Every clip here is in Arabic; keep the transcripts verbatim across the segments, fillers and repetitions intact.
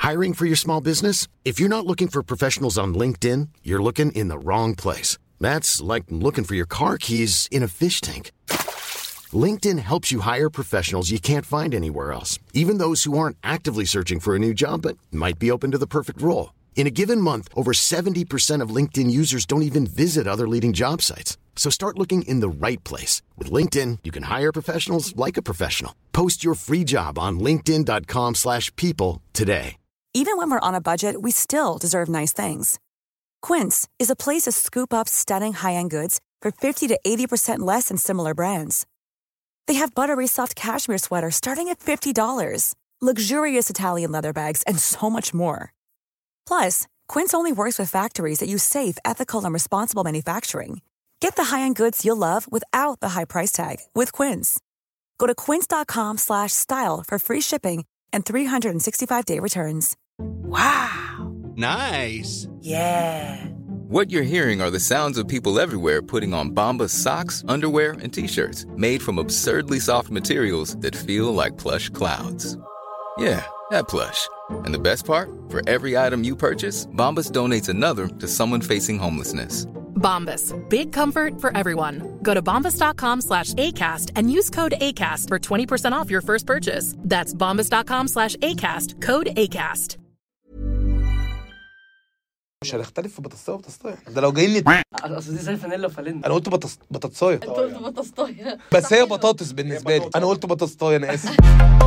Hiring for your small business? If you're not looking for professionals on LinkedIn, you're looking in the wrong place. That's like looking for your car keys in a fish tank. LinkedIn helps you hire professionals you can't find anywhere else, even those who aren't actively searching for a new job but might be open to the perfect role. In a given month, over seventy percent of LinkedIn users don't even visit other leading job sites. So start looking in the right place. With LinkedIn, you can hire professionals like a professional. Post your free job on linkedin.com slash people today. Even when we're on a budget, we still deserve nice things. Quince is a place to scoop up stunning high-end goods for fifty to eighty percent less than similar brands. They have buttery soft cashmere sweaters starting at fifty dollars, luxurious Italian leather bags, and so much more. Plus, Quince only works with factories that use safe, ethical, and responsible manufacturing. Get the high-end goods you'll love without the high price tag with Quince. Go to quince.com slash style for free shipping and three sixty-five day returns. Wow. Nice. Yeah. What you're hearing are the sounds of people everywhere putting on Bombas socks, underwear, and T-shirts made from absurdly soft materials that feel like plush clouds. Yeah, that plush. And the best part? For every item you purchase, Bombas donates another to someone facing homelessness. Bombas. Big comfort for everyone. Go to bombas.com slash ACAST and use code ACAST for twenty percent off your first purchase. That's bombas.com slash ACAST. Code ACAST. مش هنختلف في بطاطسايه وبطاطسايه. ده لو جايين نت... اصل دي زي فانيلا وفانيلا. انا قلت بطاطس بطاطسايه. انت قلت بطاطسايه. بس هي بطاطس بالنسبه لي. انا قلت بطاطسايه، انا اسف.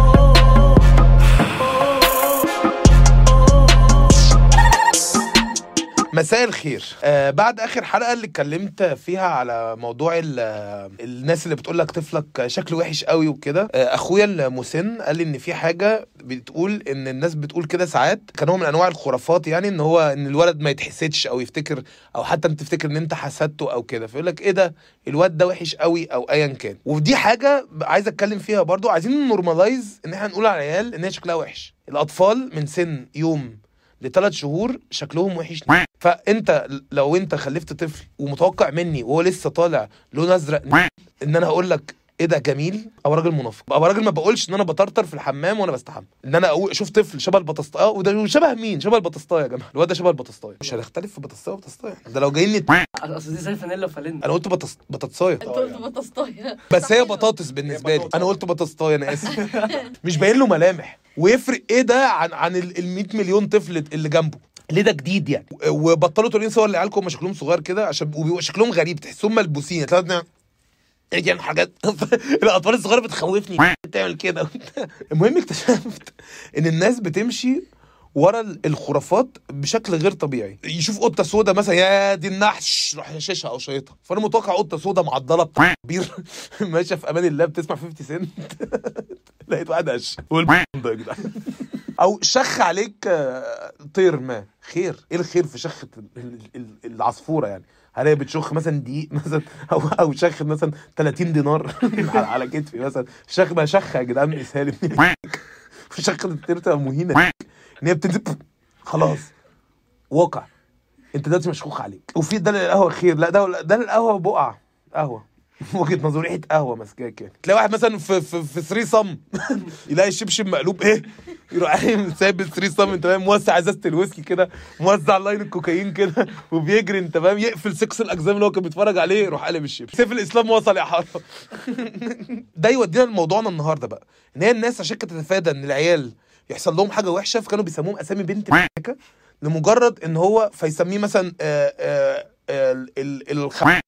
مساء الخير. آه بعد اخر حلقه اللي اتكلمت فيها على موضوع الناس اللي بتقول لك طفلك شكله وحش قوي وكده، آه اخويا المسن قال لي ان في حاجه بتقول ان الناس بتقول كده ساعات، كان هو من انواع الخرافات يعني، ان هو ان الولد ما يتحسدش او يفتكر او حتى انت تفتكر ان انت حسدته او كده، فيقول لك ايه ده الواد ده وحش قوي او ايا كان. ودي حاجه عايز اتكلم فيها برضو. عايزين نورمالايز ان احنا نقول على العيال ان هي شكلها وحش. الاطفال من سن يوم لثلاث شهور شكلهم وحش. فانت لو انت خلفت طفل ومتوقع مني وهو لسه طالع لون ازرق ان انا هقول لك ايه ده جميل، او راجل منافق، او راجل ما بقولش ان انا بطرطر في الحمام وانا بستحمى، ان انا اشوف طفل شبه البطاطسايه. وده شبه مين؟ شبه البطاطسايه يا جماعه. الواد ده شبه البطاطسايه. مش هنختلف في بطاطسايه وبطاطسايه. ده لو جايين نت... اصل دي زي فانيلا وفانيلا. انا قلت بطاطس بطاطسايه. انت قلت بطاطسايه. بس هي بطاطس بالنسبه لي. انا قلت بطاطسايه، انا اسف. مش باين له ملامح. ويفرق ايه ده عن عن ال مية مليون طفل اللي جنبه؟ ليه ده جديد يعني؟ وبطلوا تقولين صور لعيالكم هم شكلهم صغير كده عشان وبيبقوا شكلهم غريب، تحسهم ملبوسين. تلاقي يعني حاجات الاطفال الصغيره بتخوفني تعمل كده. المهم اكتشفت ان الناس بتمشي ورا الخرافات بشكل غير طبيعي. يشوف قطه سودا مثلا، يا دي النحش، راح يشيشها او شيطها. فانا متوقع قطه سودا معضله بتاع كبير ماشيه في امان الله بتسمع خمسين سنت لقيت واحد قش والبيض ده يا جدعان. او شخ عليك طير ما. خير ايه الخير في شخه العصفوره يعني؟ هلاقي بتشخ مثلا دقيق مثلا، او او شخ مثلا ثلاثين دينار على كتفي مثلا. شخ ما شخ يا جدعان اسهال شخه الطير تبقى مهينه ان هي بتنزل خلاص واقع. انت دلوقتي مشخوخ عليك. وفي ده القهوه خير، لا ده ده القهوه بقع قهوه وجهه نظر ريحه قهوه ماسكاك يعني. تلاقي واحد مثلا في في في ثري صم يلاقي الشبشب مقلوب ايه، يروح قايم سايب الثري صم انت فاهم، موسع ازازه الويسكي كده، موزع لاين الكوكايين كده وبيجري انت فاهم، يقفل سكس الاجزام اللي هو كان بيتفرج عليه، يروح قلب الشبشب. سيف الاسلام وصل يا حاره. ده يودينا لموضوعنا النهارده بقى، ان هي الناس عشان كانت تتفادى ان العيال يحصل لهم حاجه وحشه، فكانوا بيسموهم اسامي بنت مكه لمجرد ان هو فيسميه مثلا الخ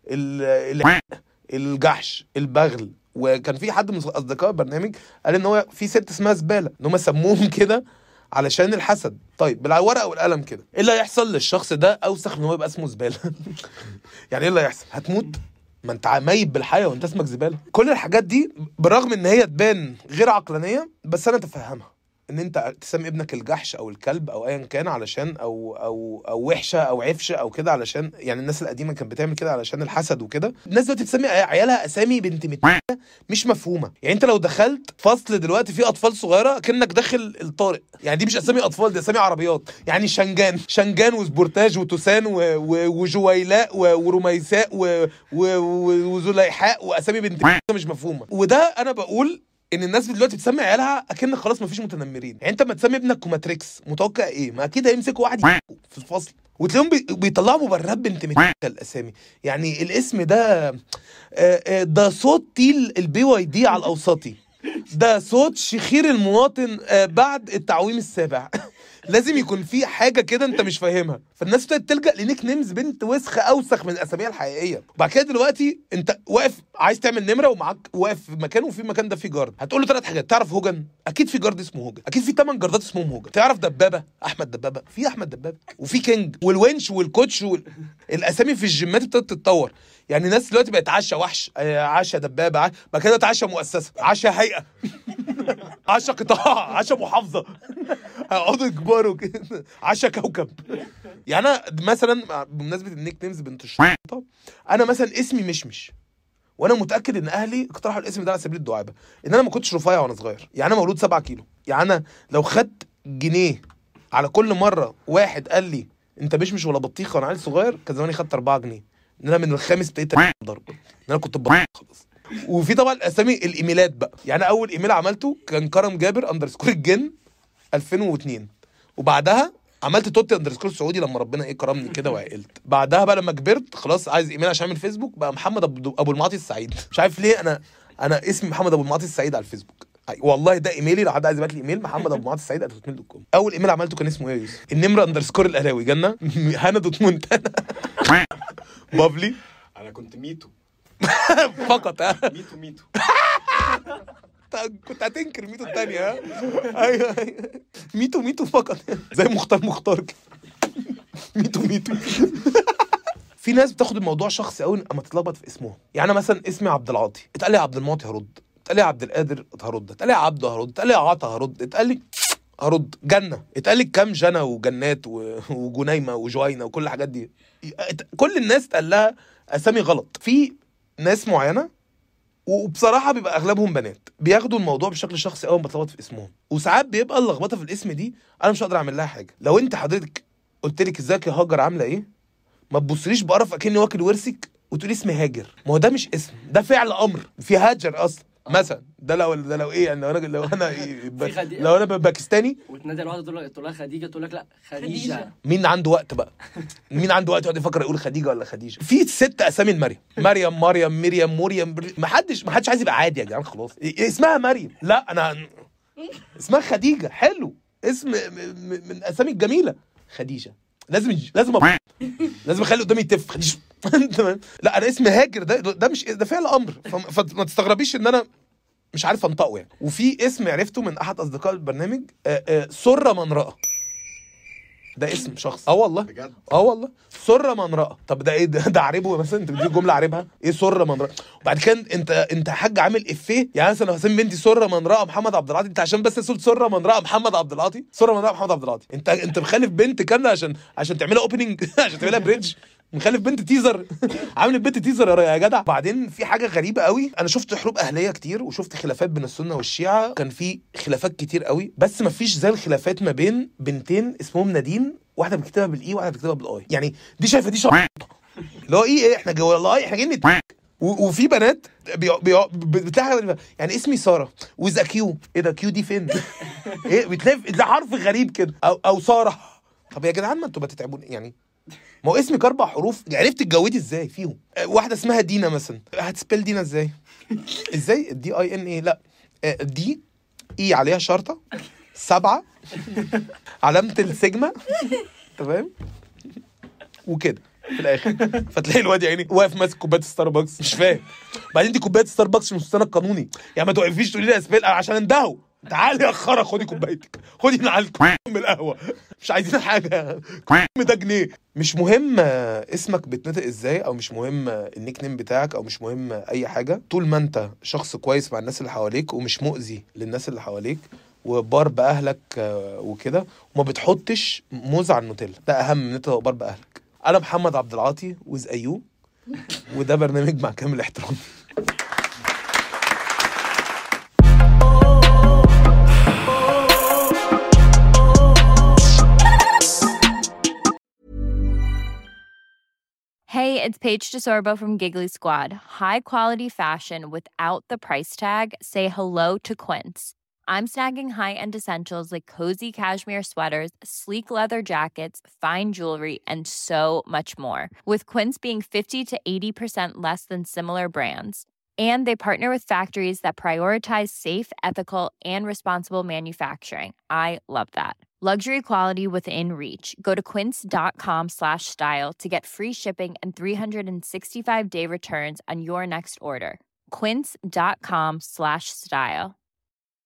الجحش البغل. وكان في حد من اصدقاء البرنامج قال ان هو في ست اسمها زباله، ان هم سموهم كده علشان الحسد. طيب بالورقه والقلم كده، ايه اللي هيحصل للشخص ده اوسخ ان هو يبقى اسمه زباله؟ يعني ايه اللي هيحصل؟ هتموت، ما انت ميت بالحياه وانت اسمك زباله. كل الحاجات دي بالرغم ان هي تبان غير عقلانيه، بس انا اتفهمها. ان انت تسمي ابنك الجحش او الكلب او ايا كان علشان او او او وحشه او عفشه او كده، علشان يعني الناس القديمه كانت بتعمل كده علشان الحسد وكده. الناس دلوقتي بتسمي عيالها اسامي بنت مت مش مفهومه. يعني انت لو دخلت فصل دلوقتي فيه اطفال صغيره كأنك داخل الطارق، يعني دي مش اسامي اطفال، دي اسامي عربيات. يعني شنجان شنجان وسبورتاج وتوسان وجويلاء ورميساء وزليحاء، واسامي بنت مش مفهومه. وده انا بقول ان الناس دلوقتي بتسمي عيالها اكن خلاص مفيش متنمرين. يعني انت لما تسمي ابنك كوماتريكس متوقع ايه؟ ما اكيد هيمسكوا واحد في الفصل وتلاقيهم بي... بيطلعوا مبررات بنت متكه الاسامي. يعني الاسم ده ده صوت تيل البي واي دي على الاوسطي، ده صوت شخير المواطن بعد التعويم السابع. لازم يكون في حاجه كده انت مش فاهمها، فالناس ابتدت تلجا لنيك نيمز بنت وسخه اوسخ من الاسامي الحقيقيه. وبعد كده دلوقتي انت واقف عايز تعمل نمره ومعاك واقف في مكان وفي المكان ده في جارد، هتقول له ثلاث حاجات. تعرف هوجن؟ اكيد في جارد اسمه هوجن، اكيد في ثمان جاردات اسمهم هوجن. تعرف دبابه؟ احمد دبابه، في احمد دبابه، وفي كينج والونش والكوتش وال... الاسامي في الجيمات ابتدت تتطور. يعني الناس دلوقتي بقت عشا وحش، عشا دبابه، عش... بعد كده عشا مؤسسه، عشا هيئه، عشا قطاع، عشا محافظه، هيقعدوا يكبروا كده، عشا كوكب. يعني انا مثلا بمناسبه النيك نيمز بنت الشرطه، انا مثلا اسمي مشمش، وانا متاكد ان اهلي اقترحوا الاسم ده على سبيل الدعابه، ان انا ما كنتش رفيع وانا صغير. يعني انا مولود سبعة كيلو، يعني انا لو خدت جنيه على كل مره واحد قال لي انت مشمش ولا بطيخه وانا عيل صغير، كان زماني خدت أربعة جنيه. ان انا من الخامس ابتديت ضرب، ان انا كنت بطيخ خلاص. وفي طبعا الاسامي الايميلات بقى. يعني اول ايميل عملته كان كرم جابر اندرسكور الجن ألفين واثنين، وبعدها عملت توتي اندرسكور سعودي لما ربنا ايه كرمني كده وعقلت. بعدها بقى لما كبرت خلاص عايز ايميل عشان اعمل فيسبوك، بقى محمد ابو المعاطي السعيد. مش عارف ليه انا انا اسمي محمد ابو المعاطي السعيد على الفيسبوك. والله ده ايميلي، لو حد عايز يبعت لي ايميل محمد ابو المعاطي السعيد ات جيميل دوت كوم. اول ايميل عملته كان اسمه ايه يا يوسف؟ النمره اندرسكور القلاوي جنه هنا دوت مونتانا بابلي. انا كنت ميتو فقط. ها ميتو ميتو كنت هتنكر ميتو الثانيه. ها ايوه ميتو ميتو فقط، زي مختار مختار كده. ميتو ميتو. في ناس بتاخد الموضوع شخصي قوي اما تتلخبط في اسمهم. يعني انا مثلا اسمي عبد العاطي، اتقال لي عبد المعطي هرد، اتقال لي عبد القادر هرد، اتقال لي عبده هرد، اتقال لي عطا هرد، اتقال لي هرد. جنه اتقال لي كام جنه وجنات وجنيمه وجوينه وكل الحاجات دي. كل الناس اتقال لها اسامي غلط. في ناس معينه وبصراحه بيبقى اغلبهم بنات بياخدوا الموضوع بشكل شخصي قوي بتلخبط في اسمهم، وساعات بيبقى اللخبطه في الاسم دي انا مش هقدر اعمل لها حاجه. لو انت حضرتك قلت لك ازيك يا هاجر عامله ايه، ما تبصليش بقرف اكني واكل ورثك وتقولي اسمي هاجر. ما هو ده مش اسم، ده فعل امر في هاجر اصلا. مثلا ده لو ده لو ايه يعني لو انا لو انا لو انا باكستاني وتنادي الواحده تقول تقول لها خديجه، تقول لك لا خديجه. مين عنده وقت بقى؟ مين عنده وقت يقعد يفكر يقول خديجه ولا خديجه؟ في ست اسامي المريم، مريم مريم مريم مريم. ما حدش ما حدش عايز يبقى عادي يا جدعان خلاص. اسمها مريم، لا انا اسمها خديجه. حلو، اسم من الاسامي الجميله خديجه. لازم لازم أب... لازم اخلي قدامي تف خديجه. لا انا اسمي هاجر، ده ده مش ده فعل امر، فما تستغربيش ان انا مش عارف انطقه يعني. وفي اسم عرفته من احد اصدقاء البرنامج، آآ آآ سره من رأى. ده اسم شخص. اه والله بجد. اه والله سره من رأى. طب ده ايه ده؟ ده عربه مثلا؟ انت بتجيب جمله عربها ايه سره من رأى؟ وبعد كده انت انت حاج عامل افيه. يعني مثلا لو هسمي بنتي سره من رأى محمد عبد العاطي، انت عشان بس صوت سره من رأى محمد عبد العاطي، سره من رأى محمد عبد العاطي، انت انت مخلف بنت كامله عشان عشان تعملها اوبننج عشان تعملها بريدج. مخلف بنت تيزر عامل بنت تيزر يا جدع. بعدين في حاجه غريبه قوي، انا شفت حروب اهليه كتير وشفت خلافات بين السنه والشيعه، كان في خلافات كتير قوي، بس ما فيش زي الخلافات ما بين بنتين اسمهم نادين، واحده بتكتبها بالاي واحده بتكتبها بالاي. يعني دي شايفه دي شرطه اللي هو ايه احنا جوه الله احنا جايين. وفي بنات بتلاقي يعني اسمي ساره وذا كيو، ايه ده كيو دي فين؟ ايه بتلاقي ده حرف غريب كده، او او ساره. طب يا جدعان ما انتوا بتتعبون يعني، ما هو اسمك اربع حروف، عرفت تتجوزي ازاي فيهم؟ واحده اسمها دينا مثلا، هتسبيل دينا ازاي؟ ازاي دي اي ان ايه؟ لا دي اي عليها شرطه سبعه علامه السيجما تمام وكده في الاخر. فتلاقي الواد يعني واقف ماسك كوبايه ستاربكس مش فاهم. بعدين دي كوبايه ستاربكس مش مستند قانوني، يعني ما توقفيش تقولي لي اسبيل عشان اندهوا. تعالي يا خرا خدي كوبايتك، خدي من على من القهوه، مش عايزين حاجه ده جنيه. مش مهم اسمك بيتنطق ازاي، او مش مهم النيك نيم بتاعك، او مش مهم اي حاجه، طول ما انت شخص كويس مع الناس اللي حواليك ومش مؤذي للناس اللي حواليك وبار باهلك وكده، وما بتحطش موز على النوتيلا. ده اهم من انت بار باهلك. انا محمد عبد العاطي وز ايو، وده برنامج مع كامل احترامي. Hey, it's Paige DeSorbo from Giggly Squad. High quality fashion without the price tag. Say hello to Quince. I'm snagging high-end essentials like cozy cashmere sweaters, sleek leather jackets, fine jewelry, and so much more. With Quince being fifty to eighty percent less than similar brands. And they partner with factories that prioritize safe, ethical, and responsible manufacturing. I love that. Luxury quality within reach. Go to quince.com slash style to get free shipping and three sixty-five day returns on your next order. Quince.com slash style.